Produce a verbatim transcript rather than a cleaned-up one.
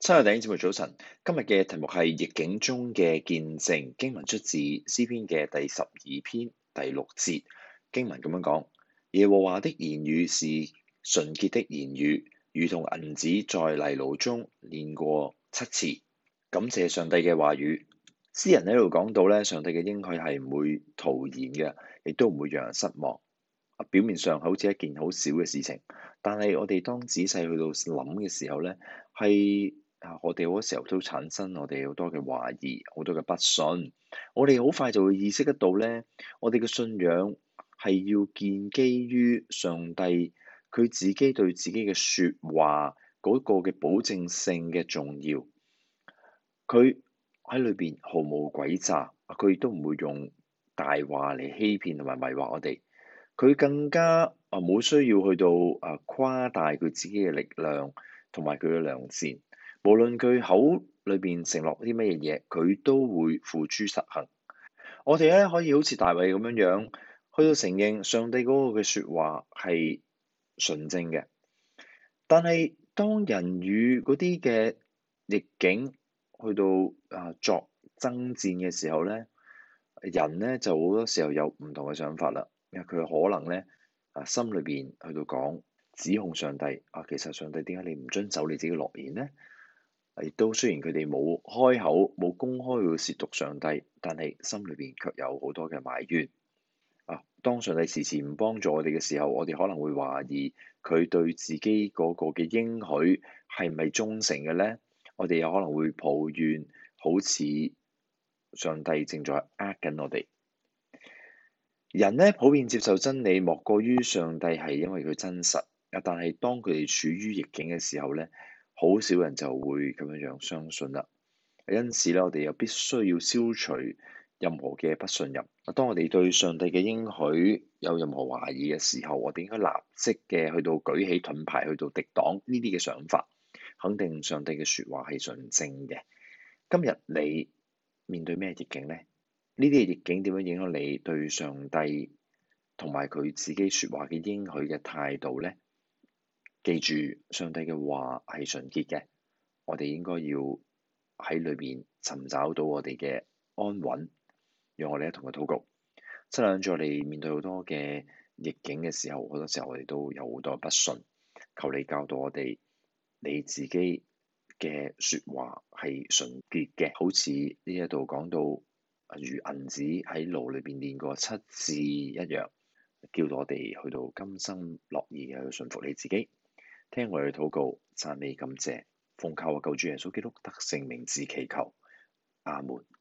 親愛的弟兄姊妹早晨，今日嘅題目係逆境中嘅見證。經文出自詩篇嘅第十二篇第六節。經文咁樣講：耶和華的言語是純潔的言語，如同銀子在泥爐中煉過七次。感謝上帝嘅話語。詩人喺度講到咧，上帝嘅應許係唔會徒然嘅，亦都唔會讓人失望。表面上好似一件好小嘅事情，但係我哋當仔細去到諗嘅時候咧，係啊，我哋好多時候都產生我哋好多嘅懷疑，好多嘅不信。我哋好快就會意識得到咧，我哋嘅信仰係要建基於上帝佢自己對自己嘅説話嗰個嘅保證性嘅重要。佢喺裏邊毫無詭詐，佢亦都唔會用大話嚟欺騙同埋迷惑我哋。佢更加啊冇需要去到啊誇大佢自己嘅力量同埋佢嘅良善。無論佢口裏邊承諾啲乜嘢嘢，佢都會付諸實行。我哋咧可以好似大衛咁樣樣，去到承認上帝嗰個嘅説話係純正嘅。但係當人與嗰啲嘅逆境去到啊作爭戰嘅時候咧，人咧就好多時候有唔同嘅想法啦。因為佢可能咧啊心裏邊去到講指控上帝啊，其實上帝點解你唔遵守你自己嘅諾言咧？亦都雖然佢哋冇開口冇公開去褻瀆上帝，但係心裏邊卻有好多嘅埋怨啊。當上帝遲遲唔幫助我哋嘅時候，我哋可能會懷疑佢對自己嗰個嘅應許係咪忠誠嘅咧？我哋有可能會抱怨，好似上帝正在呃緊我哋。人咧普遍接受真理，莫過於上帝係因為佢真實啊。但係當佢哋處於逆境嘅時候咧，好少人就會咁樣樣相信啦。因此咧，我哋又必須要消除任何嘅不信任。當我哋對上帝嘅應許有任何懷疑嘅時候，我哋應該立即嘅去到舉起盾牌，去到敵擋呢啲嘅想法，肯定上帝嘅説話係純正嘅。今日你面對咩逆境呢？呢啲嘅逆境點樣影響你對上帝同埋佢自己説話嘅應許嘅態度呢？記住，上帝嘅話係純潔嘅，我哋應該要喺裏邊尋找到我哋嘅安穩，讓我哋一同去禱告。七兩在我哋面對好多嘅逆境嘅時候，好多時候我哋都有好多不信，求你教導我哋，你自己嘅説話係純潔嘅，好似呢一度講到如銀子喺爐裏邊煉過七次一樣，叫到我哋去到甘心樂意嘅去順服你自己。聽我哋禱告，讚美感謝，奉靠我救主耶穌基督得勝名字祈求，阿門。